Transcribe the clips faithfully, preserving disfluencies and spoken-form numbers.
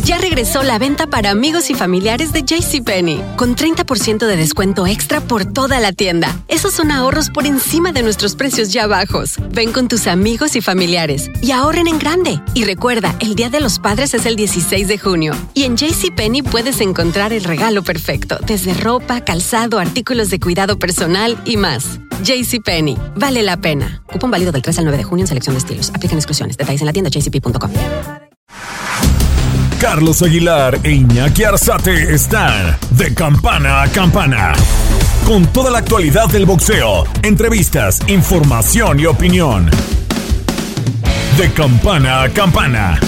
Ya regresó la venta para amigos y familiares de JCPenney, con treinta por ciento de descuento extra por toda la tienda. Esos son ahorros por encima de nuestros precios ya bajos. Ven con tus amigos y familiares y ahorren en grande. Y recuerda, el Día de los Padres es el dieciséis de junio. Y en JCPenney puedes encontrar el regalo perfecto, desde ropa, calzado, artículos de cuidado personal y más. JCPenney, vale la pena. Cupón válido del tres al nueve de junio en selección de estilos. Aplican exclusiones. Detalles en la tienda jcp punto com. Carlos Aguilar e Iñaki Arzate están de campana a campana. Con toda la actualidad del boxeo, entrevistas, información y opinión. De campana a campana.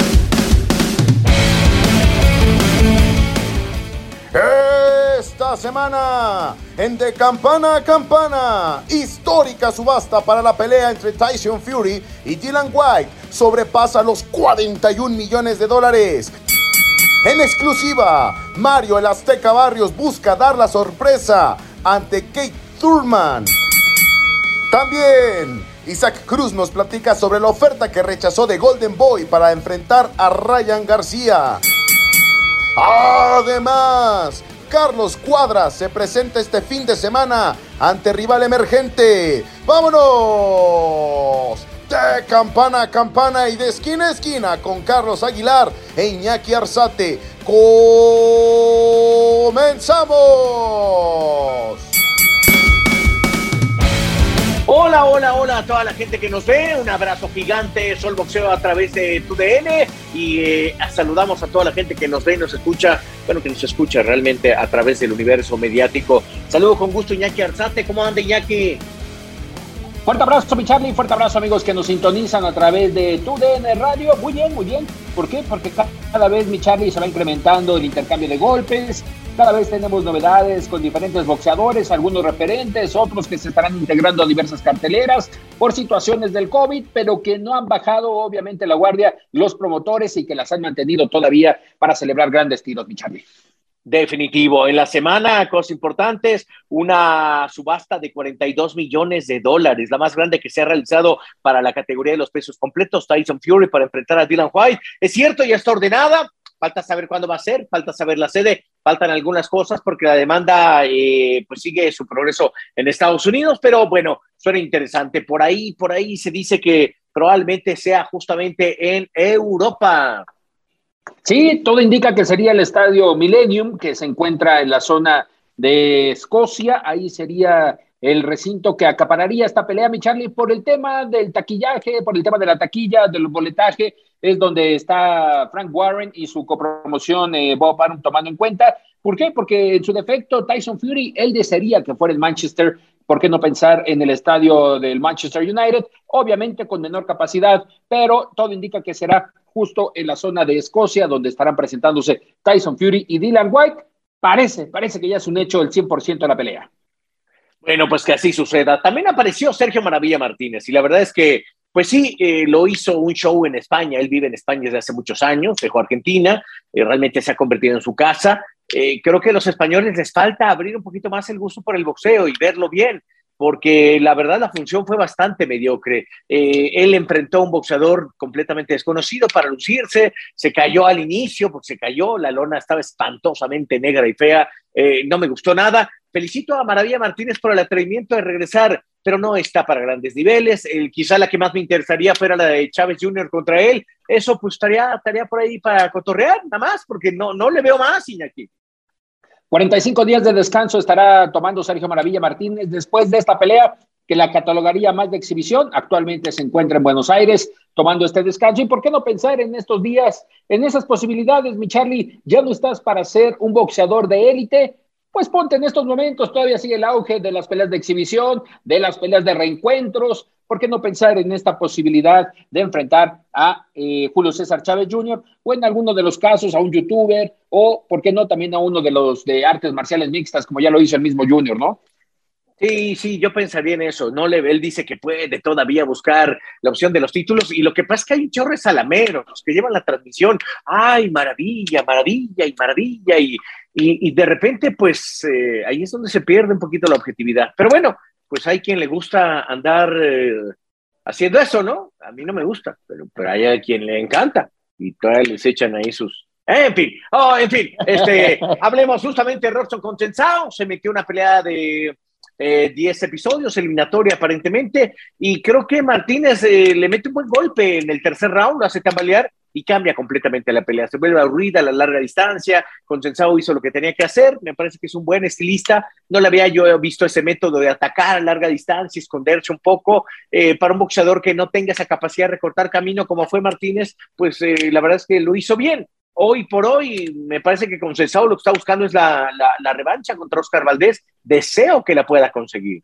Esta semana, en De Campana a Campana, histórica subasta para la pelea entre Tyson Fury y Dillian Whyte sobrepasa los cuarenta y un millones de dólares. En exclusiva, Mario el Azteca Barrios busca dar la sorpresa ante Kate Thurman. También, Isaac Cruz nos platica sobre la oferta que rechazó de Golden Boy para enfrentar a Ryan García. Además, Carlos Cuadras se presenta este fin de semana ante rival emergente. ¡Vámonos! De campana a campana y de esquina a esquina con Carlos Aguilar e Iñaki Arzate. ¡Comenzamos! Hola, hola, hola a toda la gente que nos ve. Un abrazo gigante, Sol Boxeo a través de tu D N. Y eh, saludamos a toda la gente que nos ve y nos escucha. Bueno, que nos escucha realmente a través del universo mediático. Saludo con gusto, Iñaki Arzate. ¿Cómo anda, Iñaki? Fuerte abrazo, mi Charlie, fuerte abrazo, amigos que nos sintonizan a través de tu D N Radio. Muy bien, muy bien. ¿Por qué? Porque cada vez, mi Charlie, se va incrementando el intercambio de golpes. Cada vez tenemos novedades con diferentes boxeadores, algunos referentes, otros que se estarán integrando a diversas carteleras por situaciones del COVID, pero que no han bajado, obviamente, la guardia los promotores y que las han mantenido todavía para celebrar grandes tiros, mi Charlie. Definitivo. En la semana, cosas importantes, una subasta de cuarenta y dos millones de dólares, la más grande que se ha realizado para la categoría de los pesos completos. Tyson Fury para enfrentar a Dillian Whyte. Es cierto, ya está ordenada, falta saber cuándo va a ser, falta saber la sede, faltan algunas cosas porque la demanda eh, pues sigue su progreso en Estados Unidos, pero bueno, suena interesante. Por ahí, por ahí se dice que probablemente sea justamente en Europa. Sí, todo indica que sería el estadio Millennium, que se encuentra en la zona de Escocia. Ahí sería el recinto que acapararía esta pelea, mi Charlie, por el tema del taquillaje, por el tema de la taquilla, del boletaje. Es donde está Frank Warren y su copromoción eh, Bob Arum tomando en cuenta. ¿Por qué? Porque en su defecto Tyson Fury, él desearía que fuera en Manchester. ¿Por qué no pensar en el estadio del Manchester United? Obviamente con menor capacidad, pero todo indica que será justo en la zona de Escocia, donde estarán presentándose Tyson Fury y Dillian Whyte. Parece, parece que ya es un hecho el cien por ciento de la pelea. Bueno, pues que así suceda. También apareció Sergio Maravilla Martínez, y la verdad es que, pues sí, eh, lo hizo un show en España. Él vive en España desde hace muchos años, dejó Argentina, eh, realmente se ha convertido en su casa. Eh, creo que a los españoles les falta abrir un poquito más el gusto por el boxeo y verlo bien, porque la verdad la función fue bastante mediocre. Eh, él enfrentó a un boxeador completamente desconocido para lucirse, se cayó al inicio, porque se cayó, la lona estaba espantosamente negra y fea, eh, no me gustó nada. Felicito a Maravilla Martínez por el atrevimiento de regresar, pero no está para grandes niveles. El, quizá la que más me interesaría fuera la de Chávez junior contra él. Eso pues estaría, estaría por ahí para cotorrear, nada más, porque no, no le veo más, Iñaki. cuarenta y cinco días de descanso estará tomando Sergio Maravilla Martínez después de esta pelea que la catalogaría más de exhibición. Actualmente se encuentra en Buenos Aires tomando este descanso. ¿Y por qué no pensar en estos días, en esas posibilidades, mi Charlie? Ya no estás para ser un boxeador de élite. Pues ponte en estos momentos, todavía sigue el auge de las peleas de exhibición, de las peleas de reencuentros. ¿Por qué no pensar en esta posibilidad de enfrentar a eh, Julio César Chávez junior o en alguno de los casos a un youtuber o, por qué no, también a uno de los de artes marciales mixtas, como ya lo hizo el mismo Junior, ¿no? Sí, sí, yo pensaría en eso. No le, él dice que puede todavía buscar la opción de los títulos, y lo que pasa es que hay chorres salameros los que llevan la transmisión. ¡Ay, maravilla, maravilla y maravilla! Y, y, y de repente, pues, eh, ahí es donde se pierde un poquito la objetividad. Pero bueno, pues hay quien le gusta andar eh, haciendo eso, ¿no? A mí no me gusta, pero, pero hay a quien le encanta y todavía les echan ahí sus, En fin, oh, en fin, este, hablemos justamente de Robson Consensao. Se metió una pelea de eh, diez episodios, eliminatoria aparentemente, y creo que Martínez eh, le mete un buen golpe en el tercer round, lo hace tambalear y cambia completamente la pelea. Se vuelve aburrida a la larga distancia. Consensao hizo lo que tenía que hacer. Me parece que es un buen estilista. No le había yo visto ese método de atacar a larga distancia, esconderse un poco. Eh, para un boxeador que no tenga esa capacidad de recortar camino como fue Martínez, pues eh, la verdad es que lo hizo bien. Hoy por hoy, me parece que Consensao lo que está buscando es la, la, la revancha contra Oscar Valdés. Deseo que la pueda conseguir.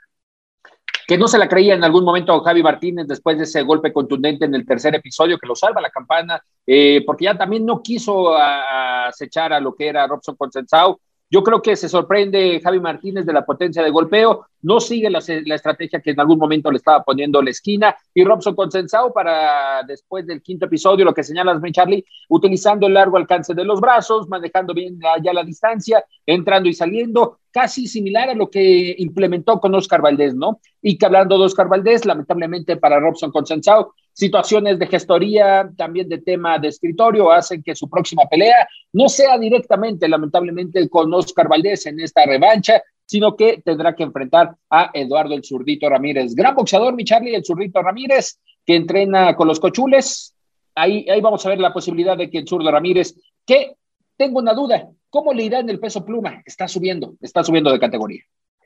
Que no se la creía en algún momento Javi Martínez después de ese golpe contundente en el tercer episodio que lo salva la campana, eh, porque ya también no quiso a, acechar a lo que era Robson Consensao. Yo creo que se sorprende Javi Martínez de la potencia de golpeo, no sigue la, la estrategia que en algún momento le estaba poniendo la esquina, y Robson Consensao para después del quinto episodio, lo que señalas, mi Charlie, utilizando el largo alcance de los brazos, manejando bien ya la distancia, entrando y saliendo, casi similar a lo que implementó con Oscar Valdés, ¿no? Y que hablando de Oscar Valdés, lamentablemente para Robson Consensao, situaciones de gestoría, también de tema de escritorio, hacen que su próxima pelea no sea directamente, lamentablemente, con Oscar Valdés en esta revancha, sino que tendrá que enfrentar a Eduardo el Zurdito Ramírez. Gran boxeador, mi Charlie, el Zurdito Ramírez, que entrena con los Cochules. Ahí, ahí vamos a ver la posibilidad de que el Zurdo Ramírez, que tengo una duda, ¿cómo le irá en el peso pluma? Está subiendo, está subiendo de categoría.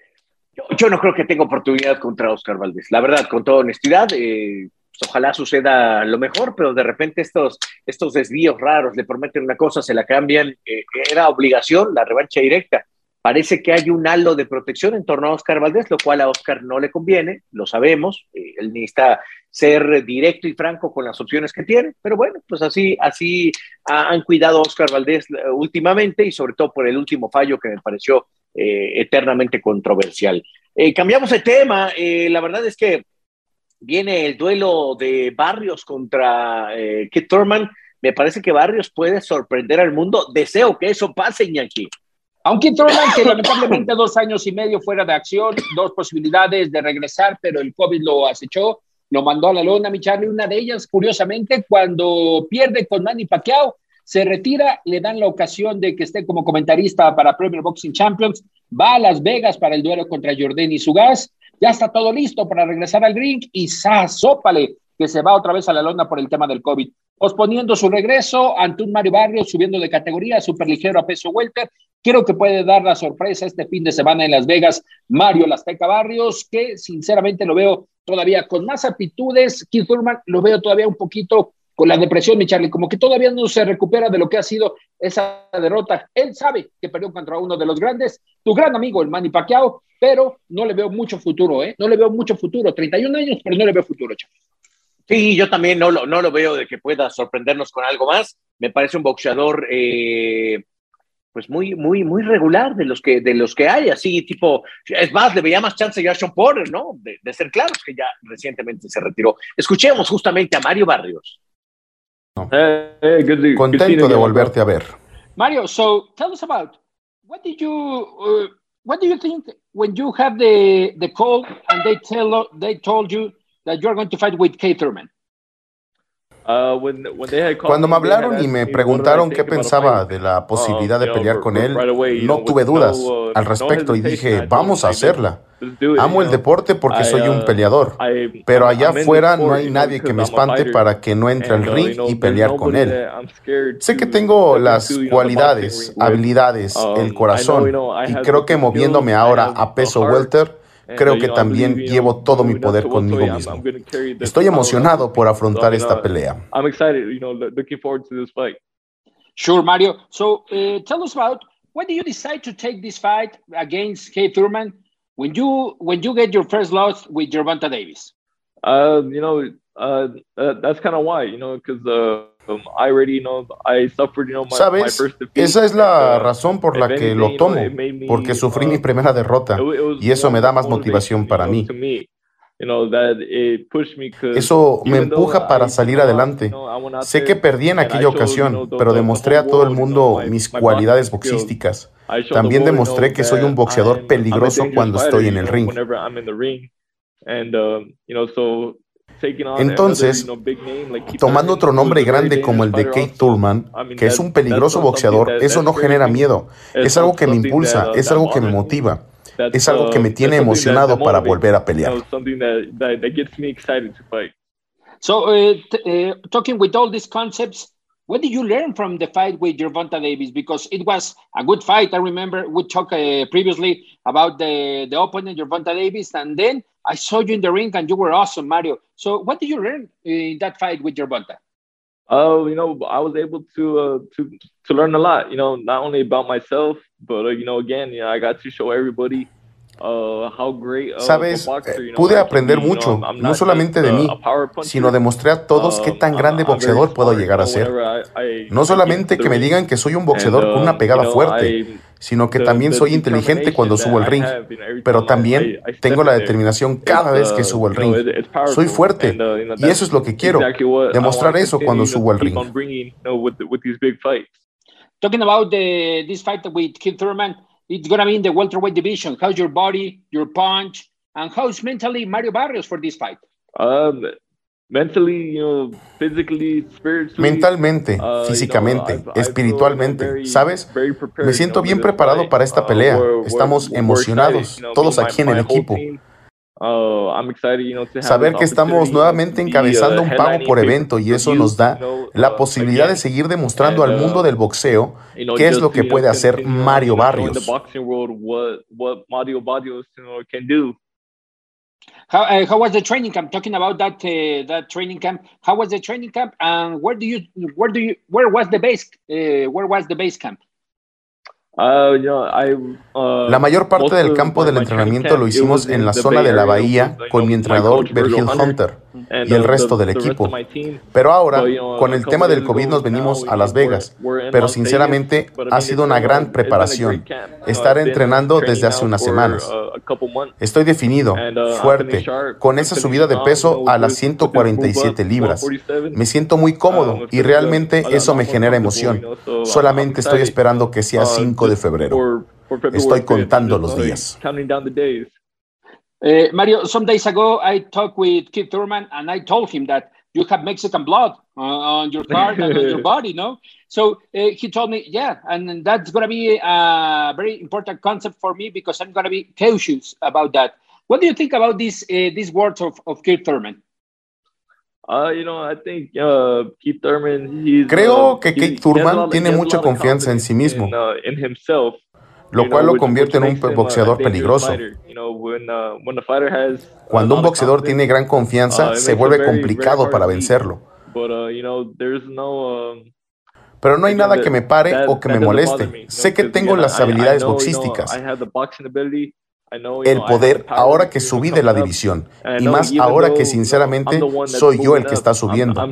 Yo, yo no creo que tenga oportunidad contra Oscar Valdés. La verdad, con toda honestidad, eh, ojalá suceda lo mejor, pero de repente estos, estos desvíos raros, le prometen una cosa, se la cambian. Eh, era obligación la revancha directa. Parece que hay un halo de protección en torno a Oscar Valdés, lo cual a Oscar no le conviene, lo sabemos. Eh, él necesita ser directo y franco con las opciones que tiene, pero bueno, pues así, así han cuidado a Oscar Valdés últimamente, y sobre todo por el último fallo que me pareció eh, eternamente controversial. Eh, cambiamos de tema. Eh, la verdad es que viene el duelo de Barrios contra eh, Keith Thurman. Me parece que Barrios puede sorprender al mundo. Deseo que eso pase, Iñaki. Aunque Thurman, que lamentablemente dos años y medio fuera de acción, dos posibilidades de regresar, pero el COVID lo acechó, lo mandó a la lona, mi Charlie. Una de ellas, curiosamente, cuando pierde con Manny Pacquiao, se retira, le dan la ocasión de que esté como comentarista para Premier Boxing Champions, va a Las Vegas para el duelo contra Jordan Zugás, ya está todo listo para regresar al ring y ¡zásópale! Que se va otra vez a la lona por el tema del COVID, posponiendo su regreso ante un Mario Barrios subiendo de categoría, superligero a peso welter. Creo que puede dar la sorpresa este fin de semana en Las Vegas, Mario el Azteca Barrios, que sinceramente lo veo todavía con más aptitudes. Keith Thurman lo veo todavía un poquito con la depresión, mi Charlie, como que todavía no se recupera de lo que ha sido esa derrota. Él sabe que perdió contra uno de los grandes, tu gran amigo, el Manny Pacquiao, pero no le veo mucho futuro, ¿eh? No le veo mucho futuro, treinta y un años, pero no le veo futuro, Charlie. Sí, yo también no lo, no lo veo de que pueda sorprendernos con algo más. Me parece un boxeador eh, pues muy, muy, muy regular de los que, de los que hay, así tipo, es más, le veía más chance ya a Sean Porter, ¿no? De, de ser claros, que ya recientemente se retiró. Escuchemos justamente a Mario Barrios. No. Hey, hey, good to, Contento good de volverte a ver. Mario, so tell us about what did you uh, what do you think when you have the the call and they tell they told you that you're going to fight with Keith Thurman? Uh, when, when they had Cuando me hablaron y me preguntaron qué pensaba de la posibilidad de pelear con él, no tuve dudas al respecto y dije, vamos a hacerla. Amo el deporte porque soy un peleador, pero allá afuera no hay nadie que me espante para que no entre al ring y pelear con él. Sé que tengo las cualidades, habilidades, el corazón, y creo que moviéndome ahora a peso welter, creo que también llevo todo mi poder conmigo mismo. Estoy emocionado por afrontar esta pelea. Sure, Mario. So, uh, tell us about when did you decide to take this fight against Keith Thurman when you when you get your first loss with Gervonta Davis? Uh, you know, uh, uh, that's kind of why, you know, because uh, um, I already, you know, I suffered, you know, my, ¿Sabes? my first defeat. Esa es la razón por la que lo tomo, porque sufrí mi primera derrota y eso me da más motivación para mí. Eso me empuja para salir adelante. Sé que perdí en aquella ocasión, pero demostré a todo el mundo mis cualidades boxísticas. También demostré que soy un boxeador peligroso cuando estoy en el ring. Entonces, tomando otro nombre grande como el de Keith Thurman, que es un peligroso boxeador, eso no genera miedo. Es algo que me impulsa, es algo que me motiva, es algo que me tiene emocionado para volver a pelear. So, uh, t- uh, talking with all these concepts, what did you learn from the fight with Gervonta Davis? Because it was a good fight. I remember we talked uh, previously about the, the opponent, Gervonta Davis, and then I saw you in the ring and you were awesome, Mario. So what did you learn in that fight with Gervonta? Oh, uh, you know, I was able to uh, to to learn a lot. You know, not only about myself, but uh, you know, again, you know, I got to show everybody. Sabes, pude aprender mucho, no solamente de mí, sino demostré a todos qué tan grande boxeador puedo llegar a ser. No solamente que me digan que soy un boxeador con una pegada fuerte, sino que también soy inteligente cuando subo al ring, pero también tengo la determinación cada vez que subo al ring. Soy fuerte, y eso es lo que quiero, demostrar eso cuando subo al ring. Talking about the, this fight with Keith Thurman, it's going to be in the welterweight division. How's your body, your punch, and how's mentally Mario Barrios for this fight? Um, mentally, you know, physically, spiritually. Mentalmente, uh, físicamente, you know, I've, espiritualmente, I've very, ¿sabes? Very prepared, Me siento bien preparado para esta pelea. Uh, we're, Estamos we're, emocionados, we're excited, you know, todos aquí my, en el equipo. Uh, I'm excited, you know, to have Saber que estamos nuevamente encabezando un pago por evento y eso nos da la posibilidad de seguir demostrando al mundo del boxeo qué es lo que puede hacer Mario Barrios. How, uh, how was the training camp? Talking about that uh, that training camp, how was the training camp, and where do you where do you where was the base uh, where was the base camp? Uh, you know, I, uh, la mayor parte del campo del entrenamiento lo hicimos en la zona de la bahía con mi entrenador Virgil Hunter y el resto del equipo. Pero ahora, con el tema del COVID nos venimos a Las Vegas, pero sinceramente ha sido una gran preparación estar entrenando desde hace unas semanas. Estoy definido, fuerte, con esa subida de peso a las ciento cuarenta y siete libras. Me siento muy cómodo y realmente eso me genera emoción. Solamente estoy esperando que sea cinco de febrero. Estoy contando los días. Uh, Mario, some days ago, I talked with Keith Thurman, and I told him that you have Mexican blood uh, on your card and on your body, no? So uh, he told me, yeah, and that's going to be a very important concept for me because I'm going to be cautious about that. What do you think about this, uh, these words of, of Keith Thurman? Uh, you know, I think uh, Keith Thurman, he's, Creo uh, que Keith Thurman tiene mucha confianza en sí mismo, in, uh, in himself, lo cual lo convierte en un boxeador peligroso. Cuando un boxeador tiene gran confianza, se vuelve complicado para vencerlo. Pero no hay nada que me pare o que me moleste. Sé que tengo las habilidades boxísticas, el poder ahora que subí de la división, y más ahora que sinceramente soy yo el que está subiendo.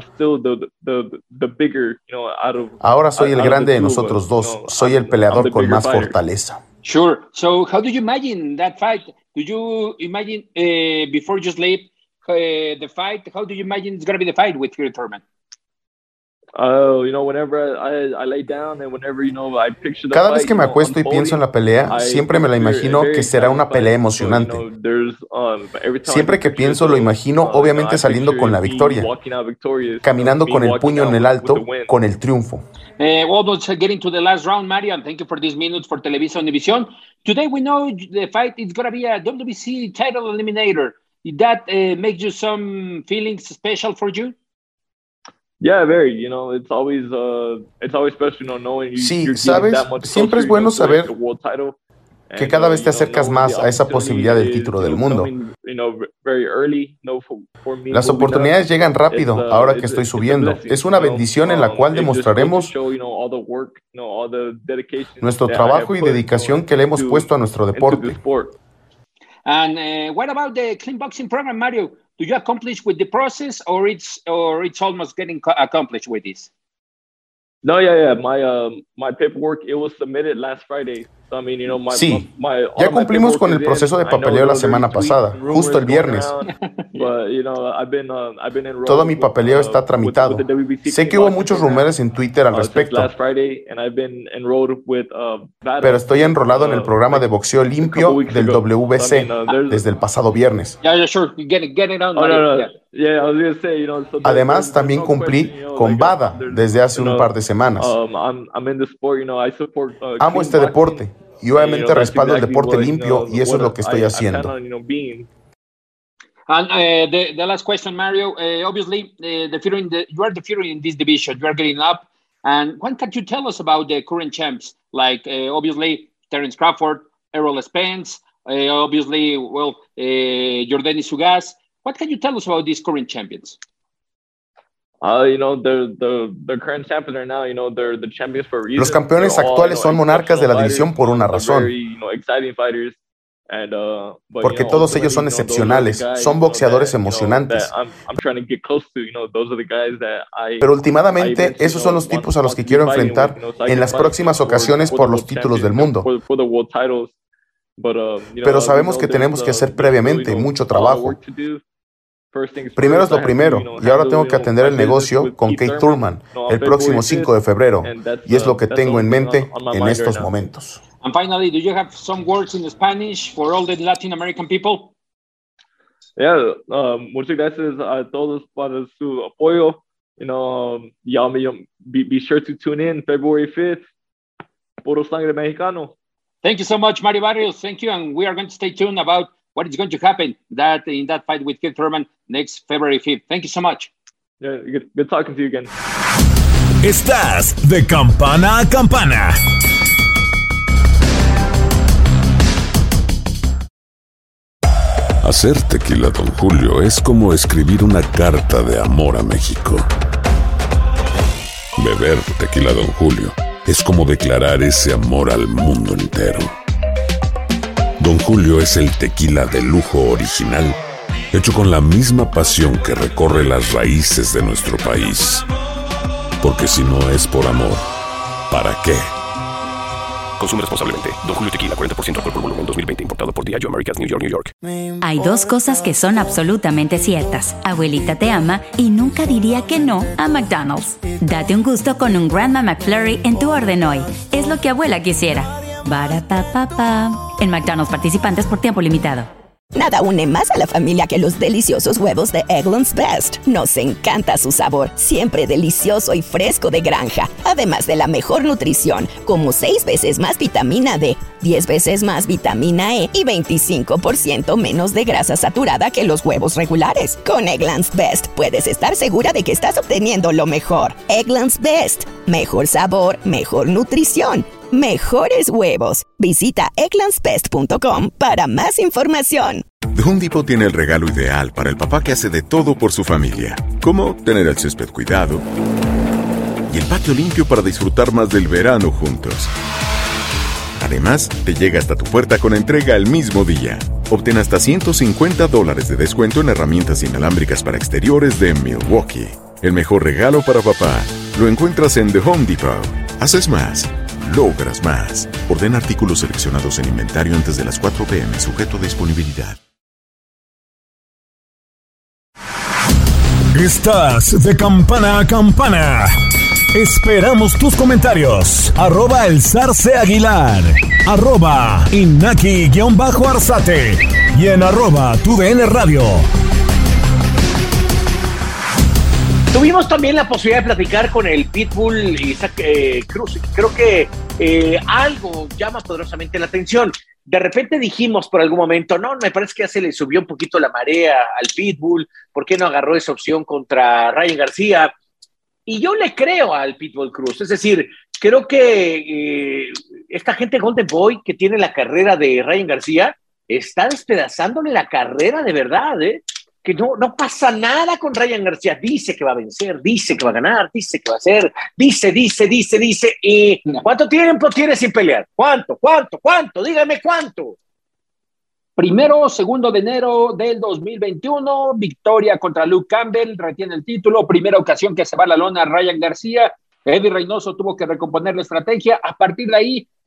Ahora soy el grande de nosotros dos, soy el peleador con más fortaleza. Sure. So how do you imagine that fight? Do you imagine uh, before you sleep uh, the fight? How do you imagine it's going to be the fight with Keith Thurman? Uh, you know, whenever I, I lay down and whenever, you know, I picture the Cada vez fight, que me you know, acuesto y pienso en la pelea, siempre me la imagino que será una pelea emocionante. Siempre que pienso lo imagino obviamente saliendo con la victoria, caminando con el puño en el alto, con el triunfo. Uh, almost getting to the last round, Mario, and thank you for these minutes for Televisa Univision. Today we know the fight is going to be a W W C title eliminator. Did that uh, make you some feelings special for you? Yeah, very. You know, it's always uh, it's always special, you know, knowing you, sí, you're sabes, that much siempre es bueno saber que cada vez te acercas más a esa posibilidad del título del mundo. Las oportunidades llegan rápido ahora que estoy subiendo. Es una bendición en la cual demostraremos nuestro trabajo y dedicación que le hemos puesto a nuestro deporte. And uh, what about the clean boxing program, Mario? Do you accomplish with the process, or it's or it's almost getting accomplished with this? No, yeah, yeah. My uh, my paperwork, it was submitted last Friday. Sí, ya cumplimos con el proceso de papeleo la semana pasada, justo el viernes. Todo mi papeleo está tramitado. Sé que hubo muchos rumores en Twitter al respecto, pero estoy enrolado en el programa de boxeo limpio del W B C desde el pasado viernes. Además, también cumplí con V A D A desde hace un par de semanas. Amo este deporte y obviamente respaldo el deporte limpio y eso es lo que estoy haciendo. And uh, the, the last question, Mario, uh, obviously uh, the Fury in the, you are the Fury in this division, you are getting up, and what can you tell us about the current champs, like uh, obviously Terence Crawford, Errol Spence, uh, obviously, well, uh, Yordenis Ugas. What can you tell us about these current champions? Uh, you know, the the the current champions are now, you know, they're the champions for a reason. Los campeones actuales son monarcas de la división por una razón. Very, you know, exciting fighters. And, uh, but, Porque you know, todos ellos son excepcionales, guys, son boxeadores you know, emocionantes. I'm, I'm to to, you know, I, Pero últimamente esos son los tipos a los que quiero enfrentar en las próximas ocasiones por los títulos del mundo. Pero sabemos que tenemos que hacer previamente mucho trabajo. Primero es lo primero, y ahora tengo que atender el negocio con Kate Thurman el próximo cinco de febrero, y es lo que tengo en mente en estos momentos. And finally, do you have some words in Spanish for all the Latin American people? Yeah, uh, muchas gracias a todos para su apoyo. You know, y'all be, be sure to tune in February fifth. Puro Sangre Mexicano. Thank you so much, Mario Barrios. Thank you, and we are going to stay tuned about what is going to happen that in that fight with Keith Thurman next February fifth. Thank you so much. Yeah, good, good talking to you again. Estás de campana a campana. Hacer tequila Don Julio es como escribir una carta de amor a México. Beber tequila Don Julio es como declarar ese amor al mundo entero. Don Julio es el tequila de lujo original, hecho con la misma pasión que recorre las raíces de nuestro país. Porque si no es por amor, ¿para qué? Consume responsablemente. Don Julio Tequila, cuarenta por ciento alcohol por volumen, dos mil veinte, importado por Diageo Americas, New York, New York. Hay dos cosas que son absolutamente ciertas. Abuelita te ama y nunca diría que no a McDonald's. Date un gusto con un Grandma McFlurry en tu orden hoy. Es lo que abuela quisiera. Barapapapa. En McDonald's participantes por tiempo limitado. Nada une más a la familia que los deliciosos huevos de Eggland's Best. Nos encanta su sabor, siempre delicioso y fresco de granja. Además de la mejor nutrición, como seis veces más vitamina D, diez veces más vitamina E y veinticinco por ciento menos de grasa saturada que los huevos regulares. Con Eggland's Best puedes estar segura de que estás obteniendo lo mejor. Eggland's Best. Mejor sabor, mejor nutrición. Mejores huevos. Visita egglands best punto com para más información. The Home Depot tiene el regalo ideal para el papá que hace de todo por su familia, como tener el césped cuidado y el patio limpio para disfrutar más del verano juntos. Además, te llega hasta tu puerta con entrega el mismo día. Obtén hasta ciento cincuenta dólares de descuento en herramientas inalámbricas para exteriores de Milwaukee. El mejor regalo para papá lo encuentras en The Home Depot. Haces más, logras más. Ordena artículos seleccionados en inventario antes de las cuatro p m, sujeto a disponibilidad. Estás de campana a campana. Esperamos tus comentarios. Arroba el Zarce Aguilar. Arroba Inaki-Arzate. Y en arroba tu D N Radio. Tuvimos también la posibilidad de platicar con el Pitbull Isaac eh, Cruz. Creo que eh, algo llama poderosamente la atención. De repente dijimos por algún momento, no, me parece que ya se le subió un poquito la marea al Pitbull. ¿Por qué no agarró esa opción contra Ryan García? Y yo le creo al Pitbull Cruz. Es decir, creo que eh, esta gente Golden Boy que tiene la carrera de Ryan García está despedazándole la carrera de verdad, ¿eh? Que no, no pasa nada con Ryan García. Dice que va a vencer, dice que va a ganar, dice que va a hacer, dice, dice, dice, dice. ¿Y cuánto tiempo tiene sin pelear? ¿Cuánto, cuánto, cuánto? Dígame cuánto. Primero, segundo de enero del dos mil veintiuno, victoria contra Luke Campbell, retiene el título, primera ocasión que se va a la lona Ryan García. Eddie Reynoso tuvo que recomponer la estrategia. A partir de ahí,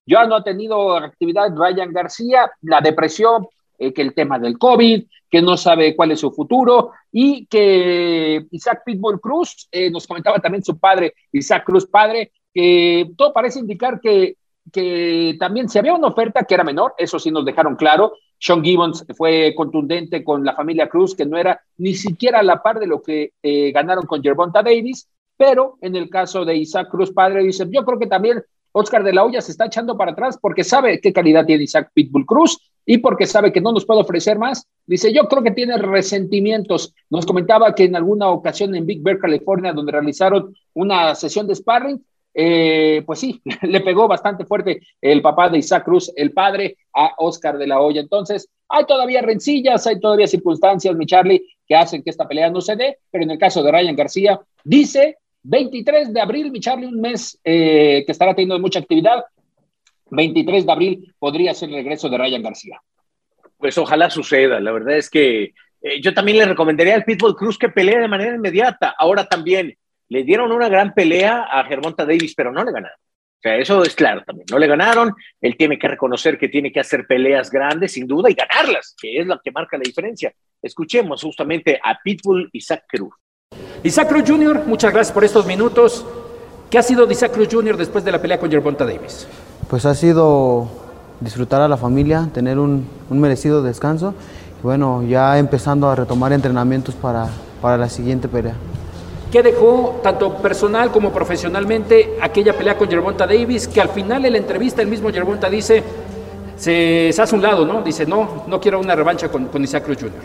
Ya no ha tenido actividad Ryan García, la depresión, eh, que el tema del COVID, que no sabe cuál es su futuro, y que Isaac Pitbull Cruz, eh, nos comentaba también su padre, Isaac Cruz padre, que todo parece indicar que, que también si había una oferta que era menor, eso sí nos dejaron claro. Sean Gibbons fue contundente con la familia Cruz, que no era ni siquiera a la par de lo que eh, ganaron con Gervonta Davis, pero en el caso de Isaac Cruz padre, dice, yo creo que también Oscar de la Hoya se está echando para atrás porque sabe qué calidad tiene Isaac Pitbull Cruz y porque sabe que no nos puede ofrecer más. Dice, yo creo que tiene resentimientos. Nos comentaba que en alguna ocasión en Big Bear, California, donde realizaron una sesión de sparring, eh, pues sí, le pegó bastante fuerte el papá de Isaac Cruz, el padre, a Oscar de la Hoya. Entonces, hay todavía rencillas, hay todavía circunstancias, mi Charlie, que hacen que esta pelea no se dé, pero en el caso de Ryan García, dice veintitrés de abril, mi Charlie, un mes eh, que estará teniendo mucha actividad. veintitrés de abril podría ser el regreso de Ryan García. Pues ojalá suceda. La verdad es que eh, yo también le recomendaría al Pitbull Cruz que pelee de manera inmediata. Ahora también le dieron una gran pelea a Gervonta Davis, pero no le ganaron. O sea, eso es claro también. No le ganaron. Él tiene que reconocer que tiene que hacer peleas grandes, sin duda, y ganarlas, que es lo que marca la diferencia. Escuchemos justamente a Pitbull Isaac Cruz. Isaac Cruz junior, muchas gracias por estos minutos. ¿Qué ha sido de Isaac Cruz junior después de la pelea con Gervonta Davis? Pues ha sido disfrutar a la familia, tener un, un merecido descanso y bueno, ya empezando a retomar entrenamientos para, para la siguiente pelea. ¿Qué dejó tanto personal como profesionalmente aquella pelea con Gervonta Davis, que al final en la entrevista el mismo Gervonta dice, se, se hace un lado, ¿no? Dice, no, no quiero una revancha con, con Isaac Cruz junior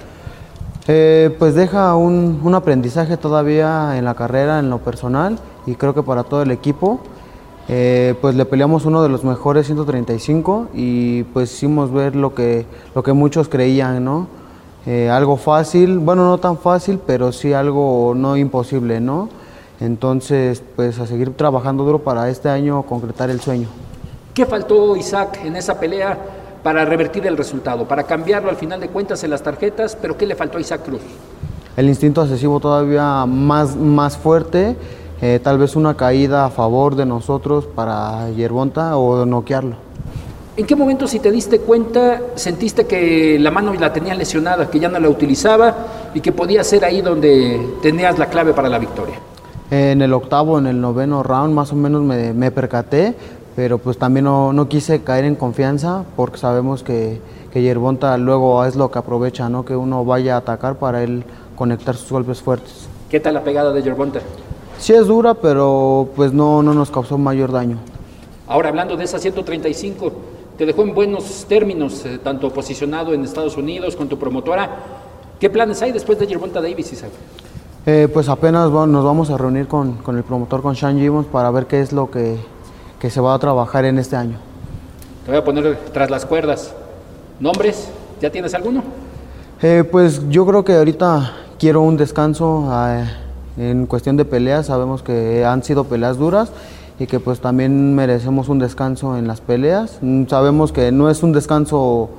Eh, pues deja un, un aprendizaje todavía en la carrera, en lo personal, y creo que para todo el equipo. Eh, pues le peleamos uno de los mejores ciento treinta y cinco y pues hicimos ver lo que, lo que muchos creían, ¿no? Eh, algo fácil, bueno, no tan fácil, pero sí algo no imposible, ¿no? Entonces, pues a seguir trabajando duro para este año concretar el sueño. ¿Qué faltó, Isaac, en esa pelea para revertir el resultado, para cambiarlo al final de cuentas en las tarjetas? ¿Pero qué le faltó a Isaac Cruz? El instinto asesivo todavía más, más fuerte, eh, tal vez una caída a favor de nosotros para Gervonta o noquearlo. ¿En qué momento, si te diste cuenta, sentiste que la mano la tenía lesionada, que ya no la utilizaba y que podía ser ahí donde tenías la clave para la victoria? En el octavo, en el noveno round más o menos me, me percaté, pero pues también no, no quise caer en confianza porque sabemos que, que Gervonta luego es lo que aprovecha, ¿no? Que uno vaya a atacar para él conectar sus golpes fuertes. ¿Qué tal la pegada de Gervonta? Sí es dura, pero pues no, no nos causó mayor daño. Ahora, hablando de esa ciento treinta y cinco, te dejó en buenos términos, eh, tanto posicionado en Estados Unidos con tu promotora. ¿Qué planes hay después de Gervonta Davis, Isaac? Eh, pues apenas bueno, nos vamos a reunir con, con el promotor, con Sean Gibbons, para ver qué es lo que, que se va a trabajar en este año. Te voy a poner tras las cuerdas. ¿Nombres? ¿Ya tienes alguno? Eh, pues yo creo que ahorita quiero un descanso eh, en cuestión de peleas. Sabemos que han sido peleas duras y que pues también merecemos un descanso en las peleas. Sabemos que no es un descanso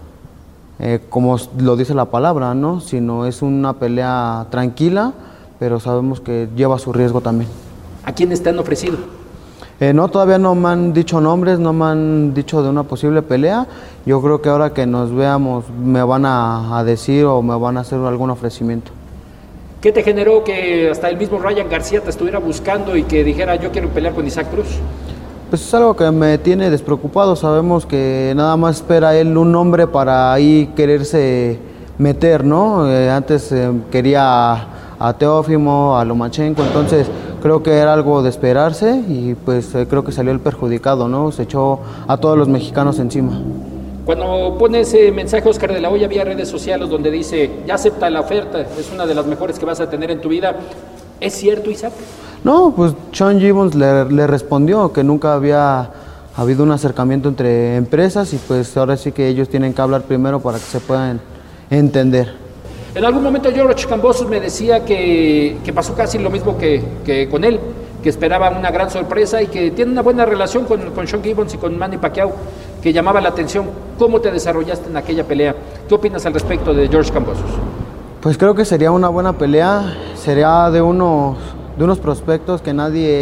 eh, como lo dice la palabra, ¿no? Sino es una pelea tranquila, pero sabemos que lleva su riesgo también. ¿A quiénes te han ofrecido? Eh, no, todavía no me han dicho nombres, no me han dicho de una posible pelea. Yo creo que ahora que nos veamos me van a, a decir o me van a hacer algún ofrecimiento. ¿Qué te generó que hasta el mismo Ryan García te estuviera buscando y que dijera yo quiero pelear con Isaac Cruz? Pues es algo que me tiene despreocupado. Sabemos que nada más espera él un nombre para ahí quererse meter, ¿no? Eh, antes eh, quería a, a Teófimo, a Lomachenko, entonces creo que era algo de esperarse y pues eh, creo que salió el perjudicado, ¿no? Se echó a todos los mexicanos encima. Cuando pone ese mensaje Oscar de la Hoya vía redes sociales donde dice, ya acepta la oferta, es una de las mejores que vas a tener en tu vida, ¿es cierto, Isaac? No, pues Sean Gibbons le, le respondió que nunca había habido un acercamiento entre empresas y pues ahora sí que ellos tienen que hablar primero para que se puedan entender. En algún momento George Kambosos me decía que, que pasó casi lo mismo que, que con él, que esperaba una gran sorpresa y que tiene una buena relación con, con Sean Gibbons y con Manny Pacquiao, que llamaba la atención. ¿Cómo te desarrollaste en aquella pelea? ¿Qué opinas al respecto de George Kambosos? Pues creo que sería una buena pelea, sería de unos, de unos prospectos que nadie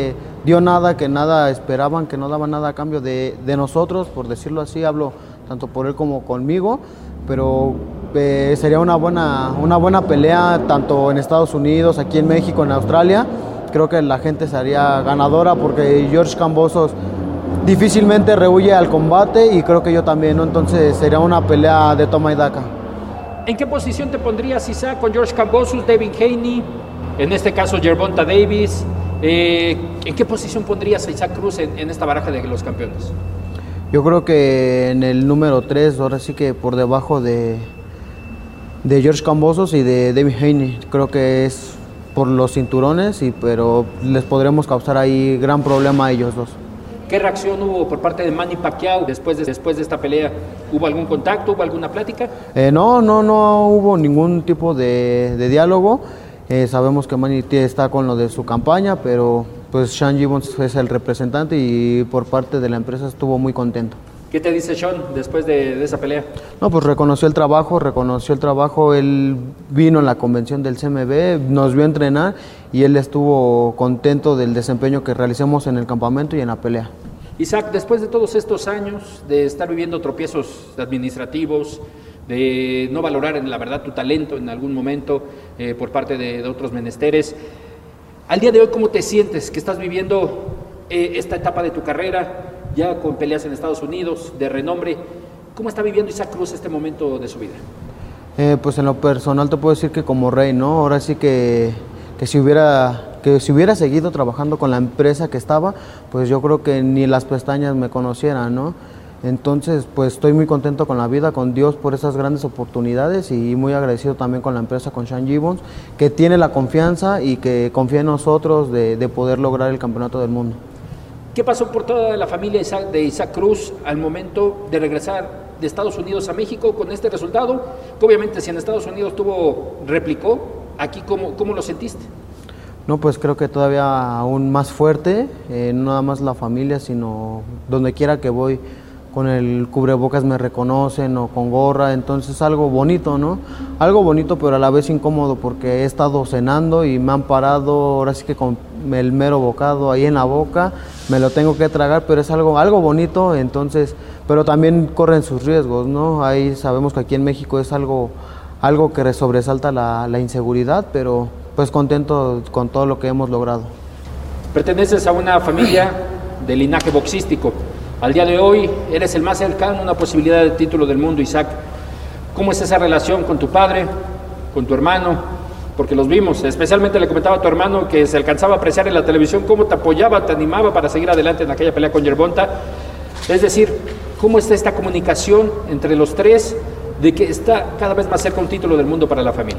dio nada, que nada esperaban, que no daban nada a cambio de, de nosotros, por decirlo así, hablo tanto por él como conmigo, pero eh, sería una buena, una buena pelea tanto en Estados Unidos, aquí en México, en Australia. Creo que la gente sería ganadora porque George Kambosos difícilmente rehuye al combate y creo que yo también, ¿no? Entonces sería una pelea de toma y daca. ¿En qué posición te pondrías, Isaac, con George Kambosos, Devin Haney, en este caso Gervonta Davis? Eh, ¿En qué posición pondrías a Isaac Cruz en, en esta baraja de los campeones? Yo creo que en el número tres, ahora sí que por debajo de, de George Kambosos y de Devin Haney. Creo que es por los cinturones, y, pero les podremos causar ahí gran problema a ellos dos. ¿Qué reacción hubo por parte de Manny Pacquiao después de, después de esta pelea? ¿Hubo algún contacto? ¿Hubo alguna plática? Eh, no, no, no hubo ningún tipo de, de diálogo. Eh, sabemos que Manny está con lo de su campaña, pero pues Sean Gibbons es el representante y por parte de la empresa estuvo muy contento. ¿Qué te dice Sean después de, de esa pelea? No, pues reconoció el trabajo, reconoció el trabajo. Él vino en la convención del C M B, nos vio entrenar y él estuvo contento del desempeño que realicemos en el campamento y en la pelea. Isaac, después de todos estos años de estar viviendo tropiezos administrativos, de no valorar en la verdad tu talento en algún momento eh, por parte de, de otros menesteres, al día de hoy, ¿cómo te sientes que estás viviendo eh, esta etapa de tu carrera, ya con peleas en Estados Unidos, de renombre? ¿Cómo está viviendo Isaac Cruz este momento de su vida? Eh, pues en lo personal te puedo decir que como rey, ¿no? Ahora sí que, que, si hubiera, que si hubiera seguido trabajando con la empresa que estaba, pues yo creo que ni las pestañas me conocieran, ¿no? Entonces, pues estoy muy contento con la vida, con Dios por esas grandes oportunidades y muy agradecido también con la empresa, con Sean Gibbons, que tiene la confianza y que confía en nosotros de, de poder lograr el campeonato del mundo. ¿Qué pasó por toda la familia de Isaac Cruz al momento de regresar de Estados Unidos a México con este resultado? Que obviamente si en Estados Unidos tuvo, replicó, aquí ¿cómo, cómo lo sentiste? No, pues creo que todavía aún más fuerte, eh, no nada más la familia, sino donde quiera que voy, con el cubrebocas me reconocen o con gorra, entonces algo bonito, ¿no? Algo bonito, pero a la vez incómodo porque he estado cenando y me han parado, ahora sí que con el mero bocado ahí en la boca, me lo tengo que tragar, pero es algo, algo bonito, entonces, pero también corren sus riesgos, ¿no? Ahí sabemos que aquí en México es algo, algo que sobresalta la, la inseguridad, pero pues contento con todo lo que hemos logrado. Perteneces a una familia de linaje boxístico. Al día de hoy eres el más cercano a una posibilidad de título del mundo, Isaac. ¿Cómo es esa relación con tu padre, con tu hermano? Porque los vimos, especialmente le comentaba a tu hermano que se alcanzaba a apreciar en la televisión cómo te apoyaba, te animaba para seguir adelante en aquella pelea con Gervonta. Es decir, ¿cómo está esta comunicación entre los tres de que está cada vez más cerca un título del mundo para la familia?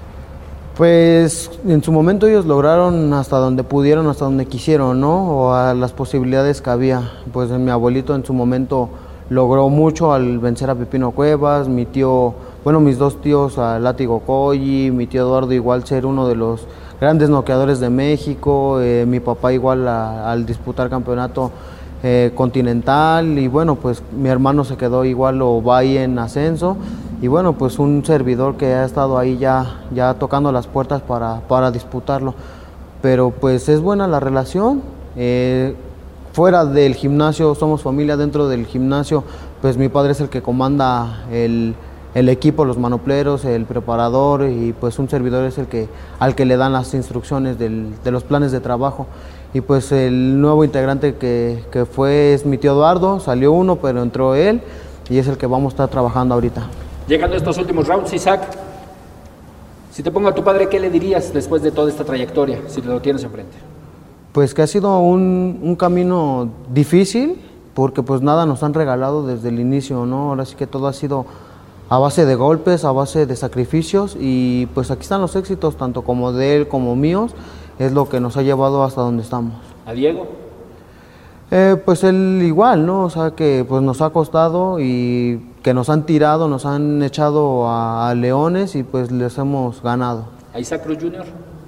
Pues en su momento ellos lograron hasta donde pudieron, hasta donde quisieron, ¿no? O a las posibilidades que había. Pues mi abuelito en su momento logró mucho al vencer a Pepino Cuevas, mi tío, bueno, mis dos tíos, a Látigo Colli, mi tío Eduardo igual ser uno de los grandes noqueadores de México, eh, mi papá igual a, al disputar campeonato eh, continental, y bueno, pues mi hermano se quedó igual o va ahí en ascenso. Y bueno, pues un servidor que ha estado ahí ya, ya tocando las puertas para, para disputarlo. Pero pues es buena la relación. Eh, fuera del gimnasio somos familia, dentro del gimnasio pues mi padre es el que comanda el, el equipo, los manopleros, el preparador, y pues un servidor es el que, al que le dan las instrucciones del, de los planes de trabajo. Y pues el nuevo integrante que, que fue es mi tío Eduardo, salió uno pero entró él y es el que vamos a estar trabajando ahorita. Llegando a estos últimos rounds, Isaac, si te pongo a tu padre, ¿qué le dirías después de toda esta trayectoria, si lo tienes enfrente? Pues que ha sido un, un camino difícil, porque pues nada nos han regalado desde el inicio, ¿no? Ahora sí que todo ha sido a base de golpes, a base de sacrificios, y pues aquí están los éxitos, tanto como de él como míos, es lo que nos ha llevado hasta donde estamos. ¿A Diego? Eh, pues él igual, ¿no? O sea que pues nos ha costado y que nos han tirado, nos han echado a, a leones y pues les hemos ganado. ¿A Isaac Cruz junior?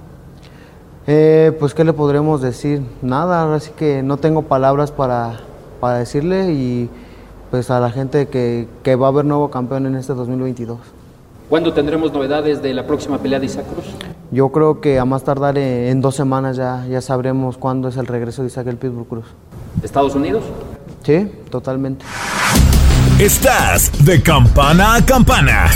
Eh, pues qué le podremos decir, nada, así que no tengo palabras para, para decirle, y pues a la gente que, que va a haber nuevo campeón en este dos mil veintidós. ¿Cuándo tendremos novedades de la próxima pelea de Isaac Cruz? Yo creo que a más tardar en dos semanas ya, ya sabremos cuándo es el regreso de Isaac El Pitbull Cruz. ¿Estados Unidos? Sí, totalmente. Estás de campana a campana.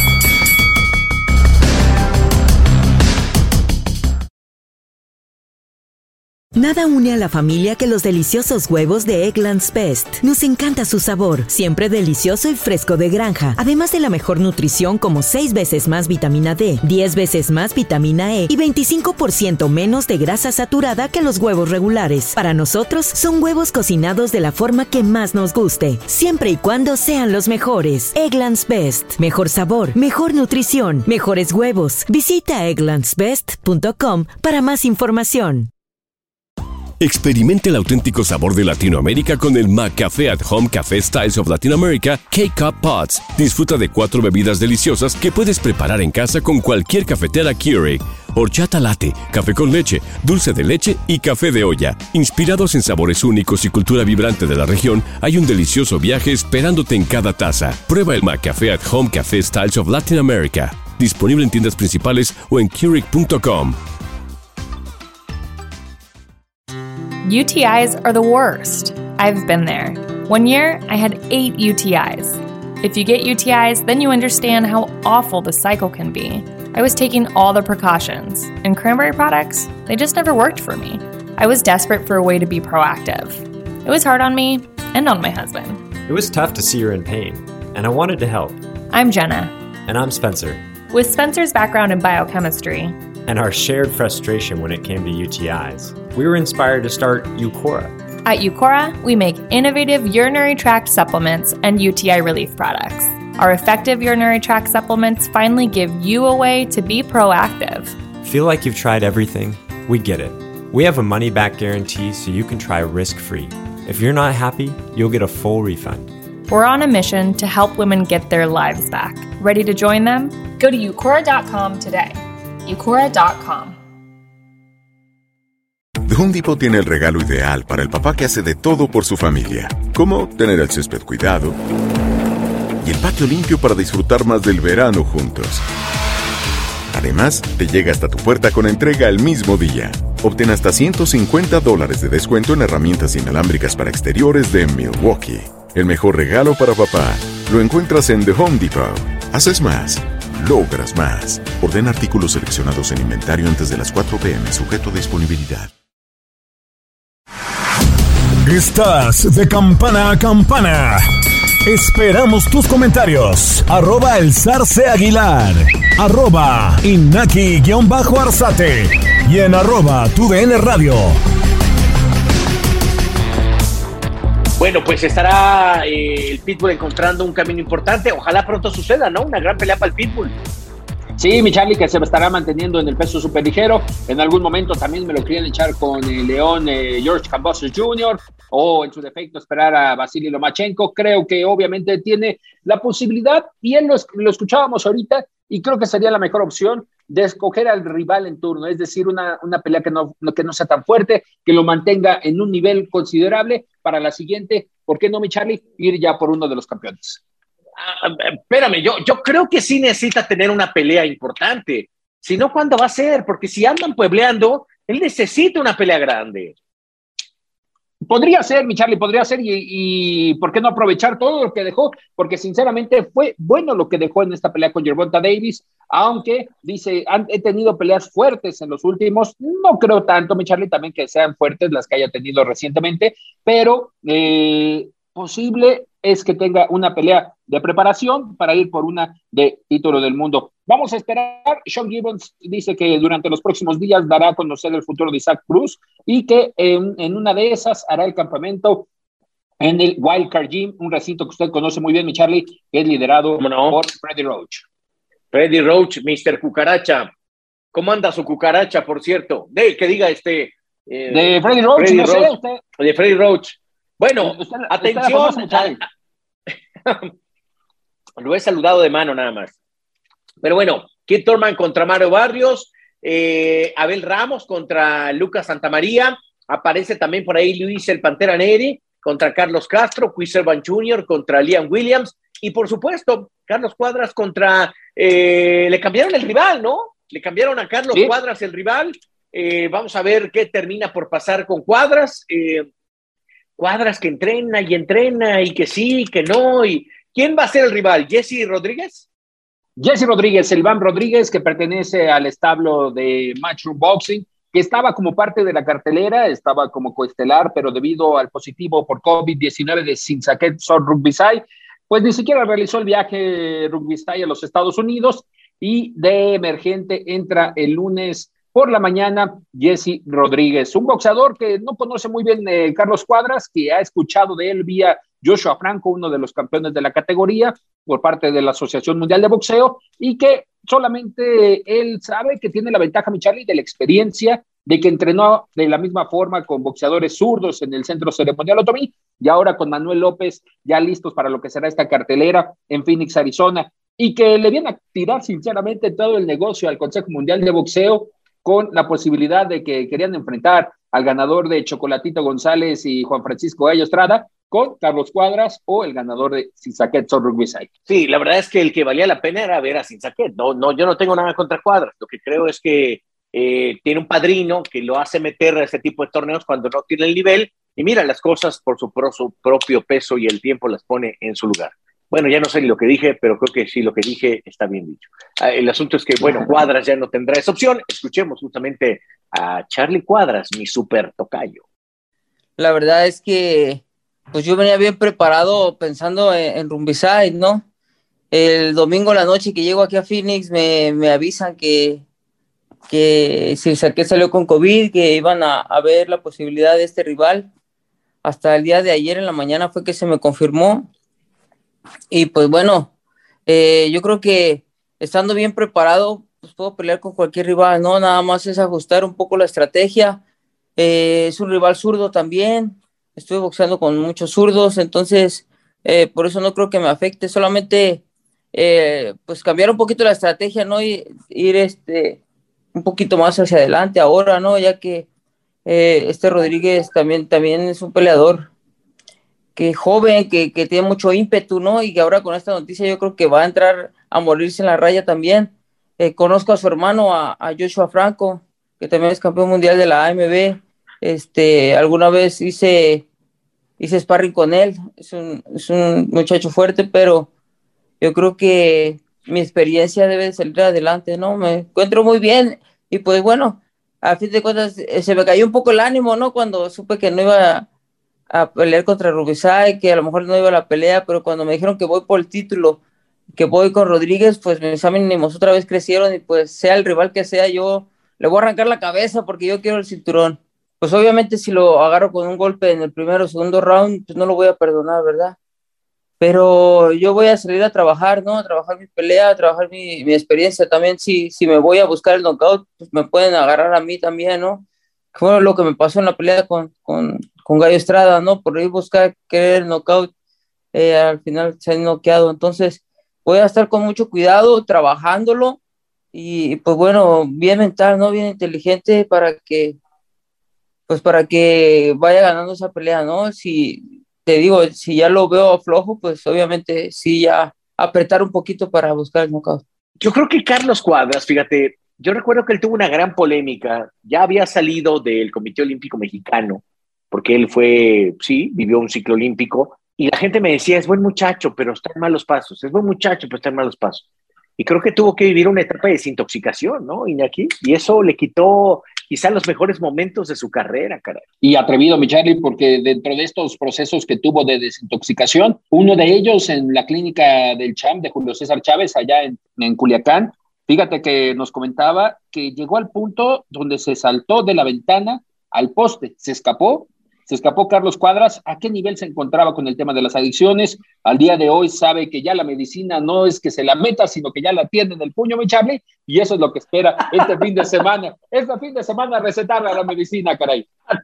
Nada une a la familia que los deliciosos huevos de Eggland's Best. Nos encanta su sabor, siempre delicioso y fresco de granja. Además de la mejor nutrición como seis veces más vitamina D, diez veces más vitamina E y veinticinco por ciento menos de grasa saturada que los huevos regulares. Para nosotros, son huevos cocinados de la forma que más nos guste, siempre y cuando sean los mejores. Eggland's Best. Mejor sabor, mejor nutrición, mejores huevos. Visita egglands best punto com para más información. Experimente el auténtico sabor de Latinoamérica con el McCafé at Home Café Styles of Latin America K-Cup Pots. Disfruta de cuatro bebidas deliciosas que puedes preparar en casa con cualquier cafetera Keurig. Horchata latte, café con leche, dulce de leche y café de olla. Inspirados en sabores únicos y cultura vibrante de la región, hay un delicioso viaje esperándote en cada taza. Prueba el McCafé at Home Café Styles of Latin America. Disponible en tiendas principales o en Keurig punto com. U T Is are the worst. I've been there. One year, I had eight U T Is. If you get U T Is, then you understand how awful the cycle can be. I was taking all the precautions, and cranberry products, they just never worked for me. I was desperate for a way to be proactive. It was hard on me and on my husband. It was tough to see her in pain, and I wanted to help. I'm Jenna. And I'm Spencer. With Spencer's background in biochemistry, and our shared frustration when it came to U T Is, we were inspired to start Eucora. At Eucora, we make innovative urinary tract supplements and U T I relief products. Our effective urinary tract supplements finally give you a way to be proactive. Feel like you've tried everything? We get it. We have a money-back guarantee so you can try risk-free. If you're not happy, you'll get a full refund. We're on a mission to help women get their lives back. Ready to join them? Go to eucora dot com today. eucora dot com. The Home Depot tiene el regalo ideal para el papá que hace de todo por su familia, como tener el césped cuidado y el patio limpio para disfrutar más del verano juntos. Además, te llega hasta tu puerta con entrega el mismo día. Obtén hasta ciento cincuenta dólares de descuento en herramientas inalámbricas para exteriores de Milwaukee. El mejor regalo para papá lo encuentras en The Home Depot. Haces más, logras más. Ordena artículos seleccionados en inventario antes de las cuatro p m, sujeto a disponibilidad. Estás de campana a campana. Esperamos tus comentarios. Arroba el Zarce Aguilar. Arroba Inaki-Arzate. Y en arroba tu D N Radio. Bueno, pues estará eh, el Pitbull encontrando un camino importante. Ojalá pronto suceda, ¿no? Una gran pelea para el Pitbull. Sí, mi Charlie, que se estará manteniendo en el peso superligero. En algún momento también me lo querían echar con el León eh, George Kambosos junior o en su defecto esperar a Vasily Lomachenko. Creo que obviamente tiene la posibilidad, y él lo, lo escuchábamos ahorita, y creo que sería la mejor opción de escoger al rival en turno, es decir, una, una pelea que no, que no sea tan fuerte, que lo mantenga en un nivel considerable para la siguiente. ¿Por qué no, mi Charlie? Ir ya por uno de los campeones. Ah, espérame, yo, yo creo que sí necesita tener una pelea importante. Si no, ¿cuándo va a ser? Porque si andan puebleando, él necesita una pelea grande. Podría ser, mi Charlie, podría ser, y, y ¿por qué no aprovechar todo lo que dejó? Porque sinceramente fue bueno lo que dejó en esta pelea con Gervonta Davis, aunque dice, han, he tenido peleas fuertes en los últimos, no creo tanto, mi Charlie, también que sean fuertes las que haya tenido recientemente, pero eh, posible es que tenga una pelea de preparación para ir por una de título del mundo. Vamos a esperar. Sean Gibbons dice que durante los próximos días dará a conocer el futuro de Isaac Cruz y que en, en una de esas hará el campamento en el Wildcard Gym, un recinto que usted conoce muy bien, mi Charlie, que es liderado no? por Freddie Roach. Freddie Roach, mister Cucaracha. ¿Cómo anda su cucaracha, por cierto? De, que diga este... Eh, de Freddie Roach, Freddie no Roach, sé. Usted, de Freddie Roach. Bueno, usted, atención. Usted famosa, lo he saludado de mano nada más. Pero bueno, Keith Thurman contra Mario Barrios, eh, Abel Ramos contra Lucas Santamaría, aparece también por ahí Luis el Pantera Neri contra Carlos Castro, Chris Evans junior contra Liam Williams, y por supuesto, Carlos Cuadras contra, eh, le cambiaron el rival, ¿no? Le cambiaron a Carlos ¿Sí? Cuadras, el rival. Eh, vamos a ver qué termina por pasar con Cuadras. Eh, Cuadras que entrena y entrena y que sí, que no. Y ¿quién va a ser el rival? ¿Jesse Rodríguez? Jesse Rodríguez, el Bam Rodríguez, que pertenece al establo de Matchroom Boxing, que estaba como parte de la cartelera, estaba como coestelar, pero debido al positivo por COVID diecinueve de Sinsaket Sor Rugvisai, pues ni siquiera realizó el viaje Rugvisai a los Estados Unidos, y de emergente entra el lunes por la mañana Jesse Rodríguez, un boxeador que no conoce muy bien eh, Carlos Cuadras, que ha escuchado de él vía Joshua Franco, uno de los campeones de la categoría, por parte de la Asociación Mundial de Boxeo, y que solamente él sabe que tiene la ventaja, mi Charlie, de la experiencia, de que entrenó de la misma forma con boxeadores zurdos en el Centro Ceremonial Otomí, y ahora con Manuel López ya listos para lo que será esta cartelera en Phoenix, Arizona, y que le viene a tirar sinceramente todo el negocio al Consejo Mundial de Boxeo, con la posibilidad de que querían enfrentar al ganador de Chocolatito González y Juan Francisco Gallo Estrada con Carlos Cuadras, o el ganador de Sinsaket Sor Rugvisai. Sí, la verdad es que el que valía la pena era ver a Sinsaket. No, no, yo no tengo nada contra Cuadras. Lo que creo es que eh, tiene un padrino que lo hace meter a este tipo de torneos cuando no tiene el nivel, y mira, las cosas por su, por su propio peso y el tiempo las pone en su lugar. Bueno, ya no sé ni lo que dije, pero creo que sí, lo que dije está bien dicho. Ah, el asunto es que, bueno, Cuadras ya no tendrá esa opción. Escuchemos justamente a Charlie Cuadras, mi super tocayo. La verdad es que pues yo venía bien preparado pensando en, en Rugvisai, ¿no? El domingo a la noche que llego aquí a Phoenix me, me avisan que, que Sinsaket salió con COVID, que iban a, a ver la posibilidad de este rival. Hasta el día de ayer en la mañana fue que se me confirmó. Y pues bueno, eh, yo creo que estando bien preparado, pues puedo pelear con cualquier rival, ¿no? Nada más es ajustar un poco la estrategia. Eh, es un rival zurdo también. Estuve boxeando con muchos zurdos, entonces eh, por eso no creo que me afecte. Solamente eh, pues cambiar un poquito la estrategia, ¿no? Y ir este, un poquito más hacia adelante ahora, ¿no? Ya que eh, este Rodríguez también, también es un peleador que joven, que, que tiene mucho ímpetu, ¿no? Y que ahora con esta noticia yo creo que va a entrar a morirse en la raya también. Eh, conozco a su hermano, a, a Joshua Franco, que también es campeón mundial de la A M B. Este, alguna vez hice, hice sparring con él. Es un, es un muchacho fuerte, pero yo creo que mi experiencia debe salir adelante, ¿no? Me encuentro muy bien y pues bueno, a fin de cuentas eh, se me cayó un poco el ánimo, ¿no? Cuando supe que no iba a a pelear contra Rugvisai, que a lo mejor no iba a la pelea, pero cuando me dijeron que voy por el título, que voy con Rodríguez, pues mis ánimos otra vez crecieron, y pues sea el rival que sea, yo le voy a arrancar la cabeza porque yo quiero el cinturón. Pues obviamente si lo agarro con un golpe en el primero o segundo round, pues no lo voy a perdonar, ¿verdad? Pero yo voy a salir a trabajar, ¿no? A trabajar mi pelea, a trabajar mi, mi experiencia también. Si, si me voy a buscar el knockout, pues me pueden agarrar a mí también, ¿no? Fue lo que me pasó en la pelea con, con, con Gallo Estrada, ¿no? Por ir buscar querer el knockout, eh, al final se han noqueado. Entonces voy a estar con mucho cuidado, trabajándolo, y pues bueno, bien mental, ¿no? Bien inteligente para que, pues para que vaya ganando esa pelea, ¿no? Si te digo, si ya lo veo flojo, pues obviamente sí, ya apretar un poquito para buscar el knockout. Yo creo que Carlos Cuadras, fíjate, yo recuerdo que él tuvo una gran polémica, ya había salido del Comité Olímpico Mexicano, porque él fue, sí, vivió un ciclo olímpico, y la gente me decía, es buen muchacho, pero está en malos pasos, es buen muchacho, pero está en malos pasos. Y creo que tuvo que vivir una etapa de desintoxicación, ¿no, Iñaki? Y eso le quitó quizá los mejores momentos de su carrera, caray. Y atrevido, mi Charlie, porque dentro de estos procesos que tuvo de desintoxicación, uno de ellos en la clínica del Champ de Julio César Chávez, allá en, en Culiacán, fíjate que nos comentaba que llegó al punto donde se saltó de la ventana al poste, se escapó, se escapó Carlos Cuadras. ¿A qué nivel se encontraba con el tema de las adicciones? Al día de hoy sabe que ya la medicina no es que se la meta, sino que ya la tiene en el puño, mi Charlie, y eso es lo que espera este fin de semana. Este fin de semana recetarle a la medicina, caray.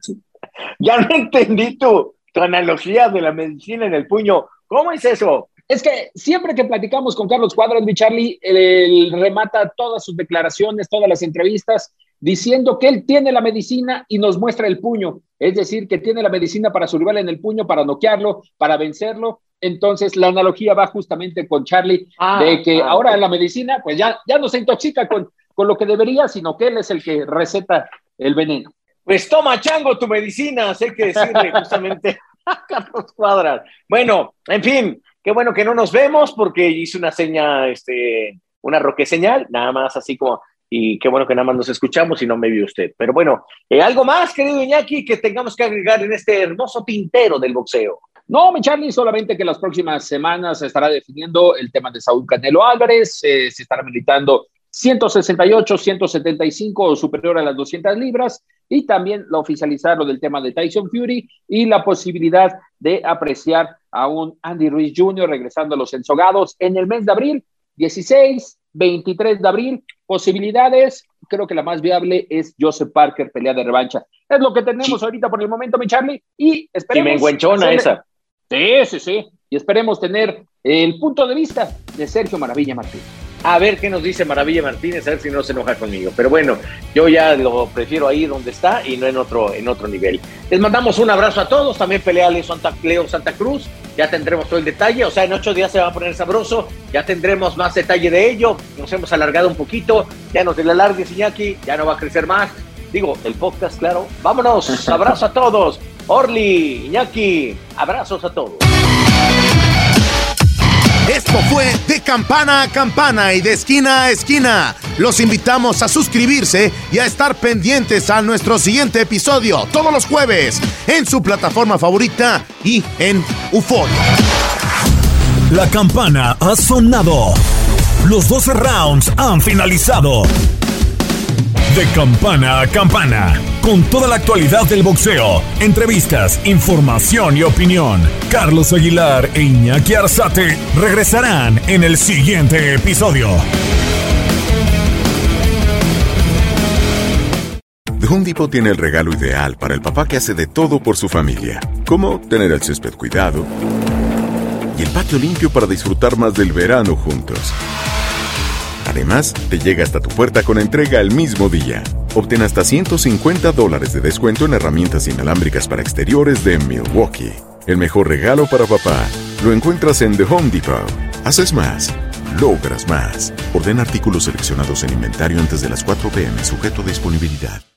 Ya no entendí tu, tu analogía de la medicina en el puño. ¿Cómo es eso? Es que siempre que platicamos con Carlos Cuadras, mi Charlie, él, él remata todas sus declaraciones, todas las entrevistas, diciendo que él tiene la medicina y nos muestra el puño. Es decir, que tiene la medicina para su rival en el puño, para noquearlo, para vencerlo. Entonces, la analogía va justamente con Charlie, ah, de que ah, ahora okay. la medicina, pues ya, ya no se intoxica con, con lo que debería, sino que él es el que receta el veneno. Pues toma, chango, tu medicina, hay que decirle justamente a Carlos Cuadras. Bueno, en fin, qué bueno que no nos vemos porque hice una seña, este, una roque señal, nada más así como, y qué bueno que nada más nos escuchamos y no me vio usted. Pero bueno, eh, algo más, querido Iñaki, que tengamos que agregar en este hermoso tintero del boxeo. No, mi Charlie, solamente que en las próximas semanas se estará definiendo el tema de Saúl Canelo Álvarez, eh, se estará militando ciento sesenta y ocho, ciento setenta y cinco o superior a las doscientas libras, y también lo oficializar lo del tema de Tyson Fury y la posibilidad de apreciar a un Andy Ruiz junior regresando a los ensogados en el mes de abril, dieciséis, veintitrés de abril, posibilidades, creo que la más viable es Joseph Parker, pelea de revancha. Es lo que tenemos sí. ahorita por el momento, mi Charlie, y esperemos... Y me enguenchona hacerle... esa. Sí, sí, sí, y esperemos tener el punto de vista de Sergio Maravilla Martínez. A ver qué nos dice Maravilla Martínez, a ver si no se enoja conmigo. Pero bueno, yo ya lo prefiero ahí donde está y no en otro, en otro nivel. Les mandamos un abrazo a todos, también pelea Leo Santa, Leo Santa Cruz, ya tendremos todo el detalle, o sea, en ocho días se va a poner sabroso, ya tendremos más detalle de ello, nos hemos alargado un poquito, ya nos la alargues, Iñaki, ya no va a crecer más. Digo, el podcast, claro. Vámonos, abrazo a todos. Orly, Iñaki, abrazos a todos. Esto fue De Campana a Campana y de Esquina a Esquina. Los invitamos a suscribirse y a estar pendientes a nuestro siguiente episodio todos los jueves en su plataforma favorita y en Euforia. La campana ha sonado. Los doce rounds han finalizado. De Campana a Campana, con toda la actualidad del boxeo, entrevistas, información y opinión. Carlos Aguilar e Iñaki Arzate regresarán en el siguiente episodio. The Home Depot tiene el regalo ideal para el papá que hace de todo por su familia, como tener el césped cuidado y el patio limpio para disfrutar más del verano juntos. Además, te llega hasta tu puerta con entrega el mismo día. Obtén hasta ciento cincuenta dólares de descuento en herramientas inalámbricas para exteriores de Milwaukee. El mejor regalo para papá lo encuentras en The Home Depot. Haces más, logras más. Ordena artículos seleccionados en inventario antes de las cuatro p m, sujeto a disponibilidad.